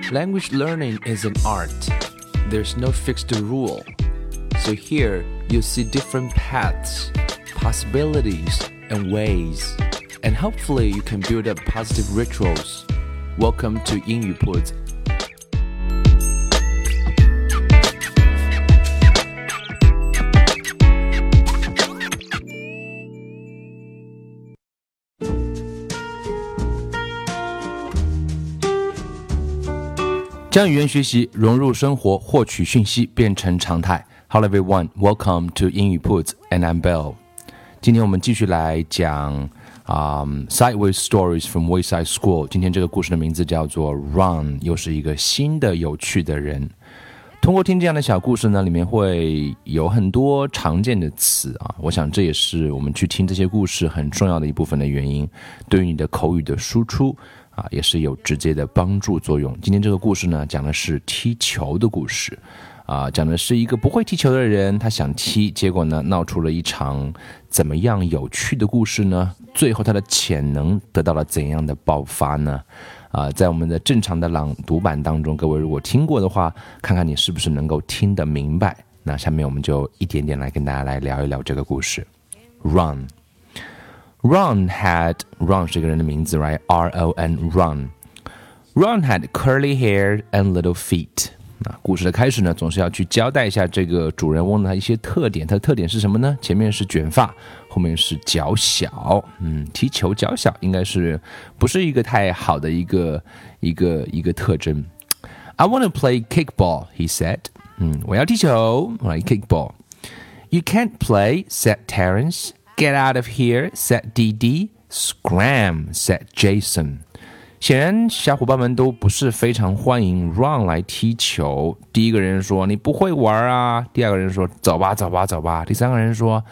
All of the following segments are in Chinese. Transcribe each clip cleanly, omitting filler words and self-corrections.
Language learning is an art. There's no fixed rule. So here you'll see different paths, possibilities, and ways. And hopefully you can build up positive rituals. Welcome to 英语铺子。将语言学习融入生活，获取讯息变成常态。Hello everyone, welcome to 英语铺子 and I'm Bill. 今天我们继续来讲Sideways Stories from Wayside School. 今天这个故事的名字叫做 Ron， 又是一个新的有趣的人。通过听这样的小故事呢，里面会有很多常见的词啊，我想这也是我们去听这些故事很重要的一部分的原因，对于你的口语的输出也是有直接的帮助作用。今天这个故事呢，讲的是踢球的故事讲的是一个不会踢球的人，他想踢，结果呢闹出了一场怎么样有趣的故事呢？最后他的潜能得到了怎样的爆发呢？在我们的正常的朗读版当中，各位如果听过的话，看看你是不是能够听得明白。那下面我们就一点点来跟大家来聊一聊这个故事。Ron 是一个人的名字 right? R-O-N Ron had curly hair and little feet。 那故事的开始呢，总是要去交代一下这个主人翁的一些特点。他的特点是什么呢？前面是卷发，后面是脚小。踢球脚小应该是不是一个太好的一个特征。I want to play kickball, he said. 我要踢球，我来 kickball. You can't play, said Terence.Get out of here, said Dee. Scram, said Jason. 显然小伙伴们都不是非常欢迎 Ron 来踢球。第一个人说你不会玩啊，第二个人说走吧，第三个人说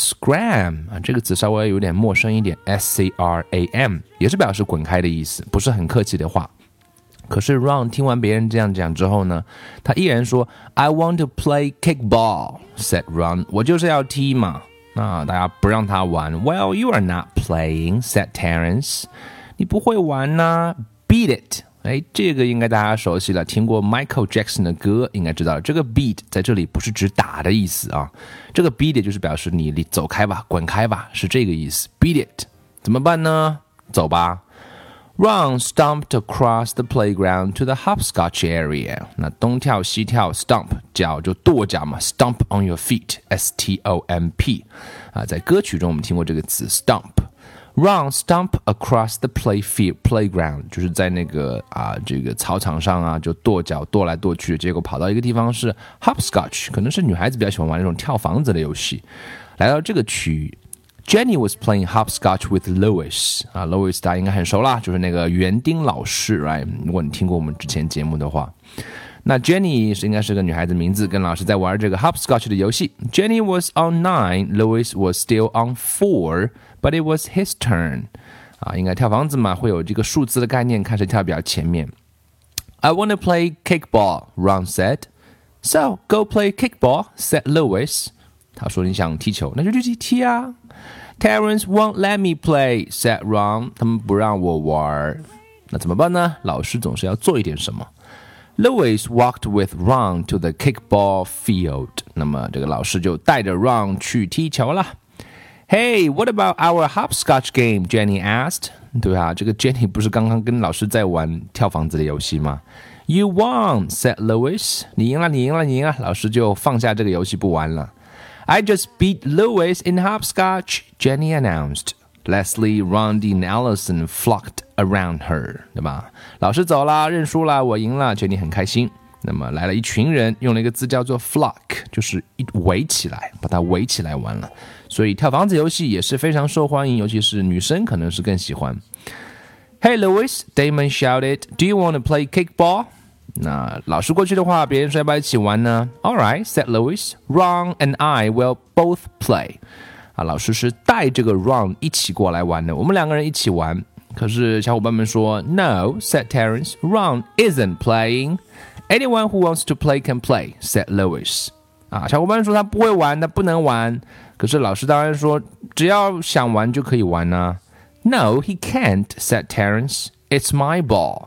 Scram 这个词稍微有点陌生一点 S-C-R-A-M 也是表示滚开的意思，不是很客气的话。可是 Ron 听完别人这样讲之后呢，他依然说 I want to play kickball, said Ron. 我就是要踢嘛。大家不让他玩。 Well, you are not playing, said Terence. 你不会玩啊 Beat it. 这个应该大家熟悉了，听过 Michael Jackson 的歌应该知道了，这个 beat 在这里不是指打的意思啊，这个 beat it 就是表示你走开吧，滚开吧，是这个意思。 Beat it 怎么办呢？走吧。Ron stomped across the playground to the hopscotch area. 那东跳西跳 stomp 脚就跺脚嘛， stomp on your feet, S-T-O-M-P 在歌曲中我们听过这个词 stomp。Ron stomp across the playground 就是在那个这个操场上就跺脚跺来跺去，结果跑到一个地方是 hopscotch， 可能是女孩子比较喜欢玩那种跳房子的游戏。来到这个区域Jenny was playing hopscotch with Louis. Louis 大家应该很熟啦，就是那个园丁老师 right? 如果你听过我们之前节目的话，那 Jenny 应该是个女孩子名字，跟老师在玩这个 hopscotch 的游戏。Jenny was on 9, Louis was still on 4, but it was his turn. 应该跳房子嘛，会有这个数字的概念，看谁跳比较前面。I want to play kickball, Ron said. So, go play kickball, said Louis. 他说你想踢球，那就去踢啊。Terence won't let me play, said Ron. 他们不让我玩，那怎么办呢？老师总是要做一点什么。Louis walked with Ron to the kickball field. 那么这个老师就带着 Ron 去踢球了。Hey, what about our hopscotch game? Jenny asked. 对啊，这个 Jenny 不是刚刚跟老师在玩跳房子的游戏吗？ You won, said Louis. 你赢了。老师就放下这个游戏不玩了。I just beat Louis in hopscotch, Jenny announced. Leslie, Rondi, and Allison flocked around her. 对吧？老师走了，认输了，我赢了 Jenny 很开心。那么来了一群人，用了一个字叫做 flock， 就是围起来，把它围起来玩了。所以跳房子游戏也是非常受欢迎，尤其是女生可能是更喜欢。Hey Louis, Damon shouted, do you want to play kickball? 那老师过去的话，别人说要不要一起玩呢？ All right, said Louis. Ron and I will both play. 老师是带这个 Ron 一起过来玩的，我们两个人一起玩。可是小伙伴们说 No, said Terence. Ron isn't playing. Anyone who wants to play can play, said Louis. 小伙伴说他不会玩，他不能玩。可是老师当然说只要想玩就可以玩啊。No, he can't, said Terence. It's my ball.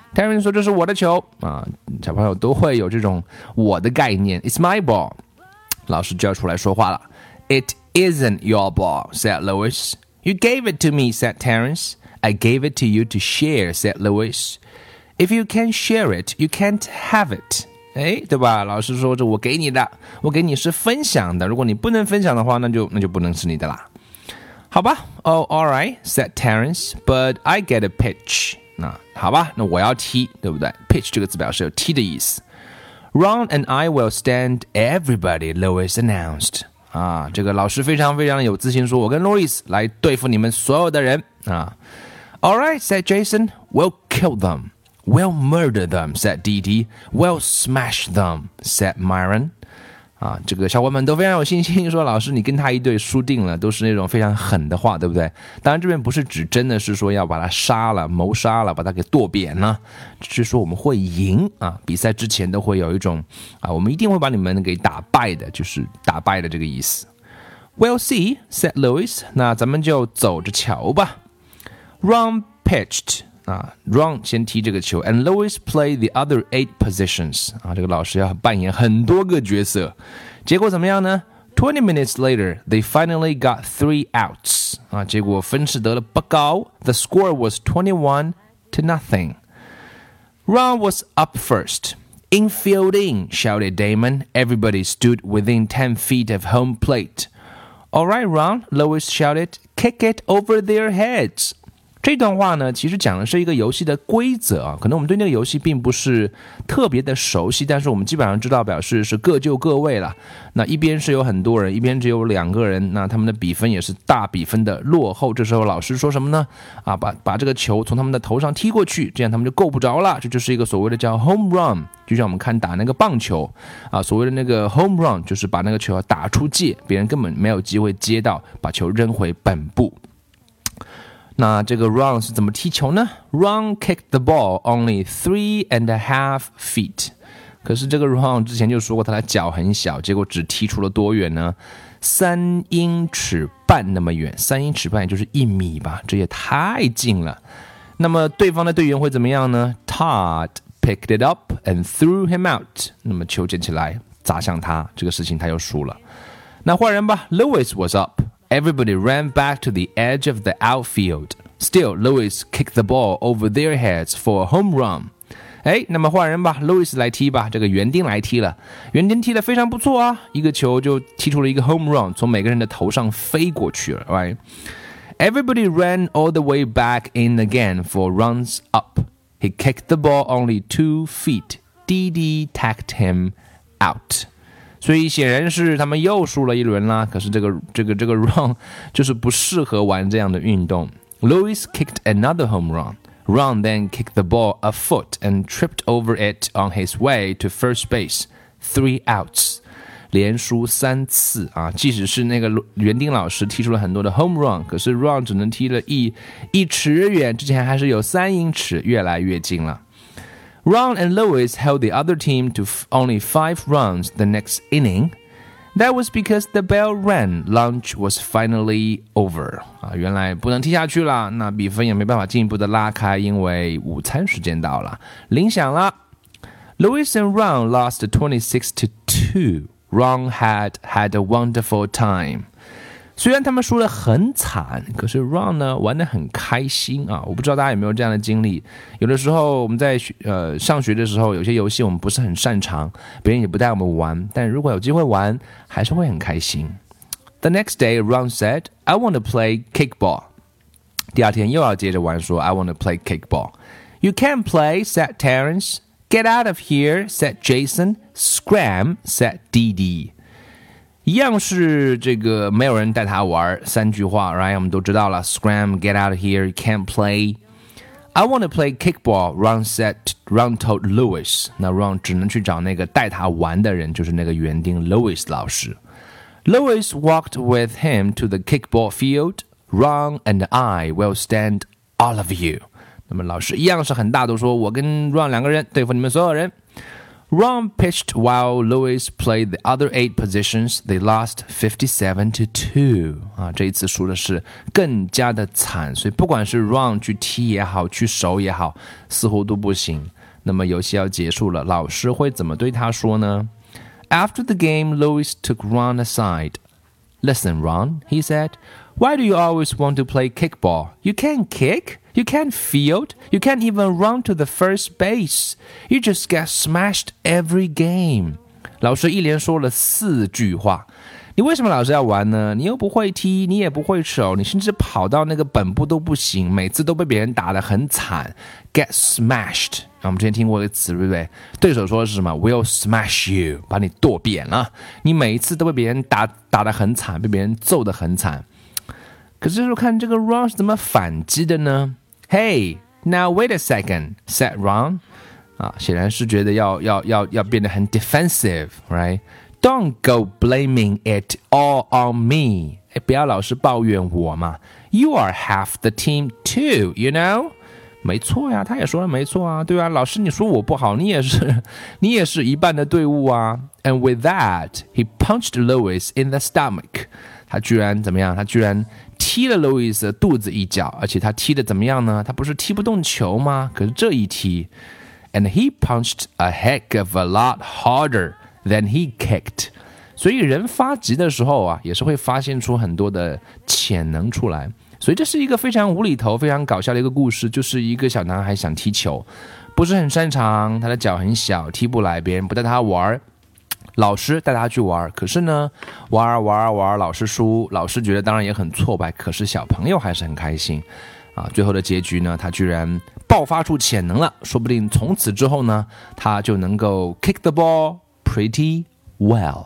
Terence 说这是我的球啊，小朋友都会有这种我的概念 It's my ball 老师就要出来说话了 It isn't your ball, said Lewis. You gave it to me, said Terence. I gave it to you to share, said Lewis. If you can't share it, you can't have it. 哎，对吧？老师说这我给你的，我给你是分享的。如果你不能分享的话，那就不能是你的啦。好吧 Oh, all right, said Terence. But I get a pitch. 那好吧，那我要踢，对不对 ？Pitch 这个字表示有踢的意思。Ron and I will stand everybody, Lewis announced. 啊，这个老师非常非常有自信说，我跟 Louis 来对付你们所有的人啊。All right, said Jason. We'll kill them. We'll murder them, said Dee Dee. We'll smash them, said Myron. 啊，这个小伙伴们都非常有信心，说老师你跟他一队输定了，都是那种非常狠的话，对不对？当然这边不是指真的是说要把他杀了、谋杀了，把他给剁扁了，只是说我们会赢啊。比赛之前都会有一种啊，我们一定会把你们给打败的，就是打败的这个意思。We'll see, said Lewis. 那咱们就走着瞧吧。Ron pitched. Ron 先踢这个球 and Lewis played the other 8 positions 这个老师要扮演很多个角色结果怎么样呢 20 minutes later they finally got 3 outs 结果分是得了不高 the score was 21-0 Ron was up first Infielding, shouted Damon. Everybody stood within 10 feet of home plate. All right, Ron, Lewis shouted. Kick it over their heads. 这段话呢，其实讲的是一个游戏的规则啊，可能我们对那个游戏并不是特别的熟悉，但是我们基本上知道表示是各就各位了。那一边是有很多人，一边只有2个人，那他们的比分也是大比分的落后。这时候老师说什么呢？把这个球从他们的头上踢过去，这样他们就够不着了。这就是一个所谓的叫 home run， 就像我们看打那个棒球所谓的那个 home run 就是把那个球打出界，别人根本没有机会接到，把球扔回本部。那这个 Ron 是怎么踢球呢 Ron kicked the ball only 3.5 feet 可是这个 Ron 之前就说过他的脚很小，结果只踢出了多远呢3英尺半那么远，3英尺半也就是1米吧，这也太近了。那么对方的队员会怎么样呢 Todd picked it up and threw him out 那么球捡起来砸向他，这个事情他又输了。那换人吧 Lewis was up，Everybody ran back to the edge of the outfield. Still, Lewis kicked the ball over their heads for a home run. 那么换人吧 Lewis 来踢吧，这个园丁来踢了。园丁踢得非常不错啊，一个球就踢出了一个 home run， 从每个人的头上飞过去了。Right? Everybody ran all the way back in again for runs up. He kicked the ball only 2 feet. Dee Dee tagged him out.所以显然是他们又输了一轮啦，可是这个 Ron 就是不适合玩这样的运动。Lewis kicked another home run. Ron then kicked the ball a foot and tripped over it on his way to first base. 3 outs. 连输3次即使是那个园丁老师踢出了很多的 home run， 可是 Ron 只能踢了一尺远，之前还是有3英尺，越来越近了。Ron and Lewis held the other team to only 5 runs the next inning. That was because the bell rang. Lunch was finally over. 原来不能踢下去了，那比分也没办法进一步的拉开，因为午餐时间到了，铃响了。Lewis and Ron lost 26-2. Ron had a wonderful time.虽然他们输得很惨，可是 Ron 呢玩得很开心我不知道大家有没有这样的经历，有的时候我们在上学的时候，有些游戏我们不是很擅长，别人也不带我们玩，但如果有机会玩，还是会很开心。The next day, Ron said, I want to play kickball. 第二天又要接着玩说 I want to play kickball. You can't play, said Terence. Get out of here, said Jason. Scram, said Dee Dee.一样是这个没有人带他玩3句话 right 我们都知道了 Scram, get out of here, you can't play I want to play kickball, Ron told Lewis 那 Ron 只能去找那个带他玩的人，就是那个园丁 Lewis 老师 Lewis walked with him to the kickball field Ron and I will stand all of you 那么老师一样是很大度说我跟 Ron 2个人对付你们所有人 Ron pitched while Lewis played the other 8 positions. They lost 57-2. 这一次输的是更加的惨，所以不管是 Ron 去踢也好，去守也好，似乎都不行。那么游戏要结束了，老师会怎么对他说呢？ After the game, Lewis took Ron aside. Listen, Ron, he said, why do you always want to play kickball? You can't kick, you can't field, you can't even run to the first base. You just get smashed every game. 老师一连说了4句话。你为什么老是要玩呢？你又不会踢，你也不会守，你甚至跑到那个本部都不行，每次都被别人打得很惨。Get smashed， 我们之前听过一个词，对不对？对手说的是什么 ？We'll smash you， 把你剁扁了。你每一次都被别人打得很惨，被别人揍得很惨。可是说看这个 Ron 是怎么反击的呢 ？Hey, now wait a second, said Ron。显然是觉得要变得很 defensive，right？Don't go blaming it all on me. 不要老是抱怨我嘛。You are half the team too, you know? 没错呀，他也说了没错啊，对啊，老师你说我不好，你也是一半的队伍啊。And with that, he punched Lewis in the stomach. 他居然怎么样？他居然踢了 Lewis 的肚子一脚，而且他踢的怎么样呢？他不是踢不动球吗？可是这一踢 ，and he punched a heck of a lot harder.Then he kicked. 所以人发急的时候也是会发现出很多的潜能出来。所以这是一个非常无厘头、非常搞笑的一个故事，就是一个小男孩想踢球，不是很擅长，他的脚很小，踢不来，别人不带他玩，老师带他去玩，可是呢，玩，老师输，老师觉得当然也很挫败，可是小朋友还是很开心。最后的结局呢，他居然爆發出潛能了，說不定從此之後呢，他就能夠 kick the ball pretty well.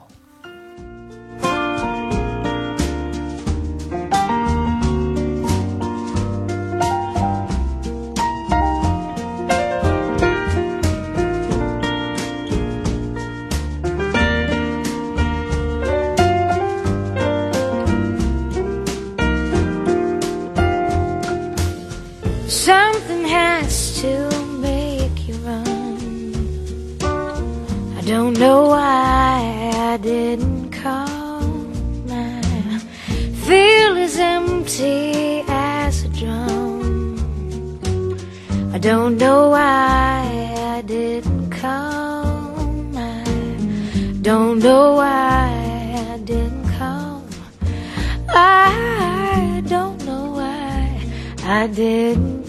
Something has to make you run. I don't know why I didn't call. I feel as empty as a drum. I don't know why I didn't call. I don't know why I didn't call. I don't know why I didn't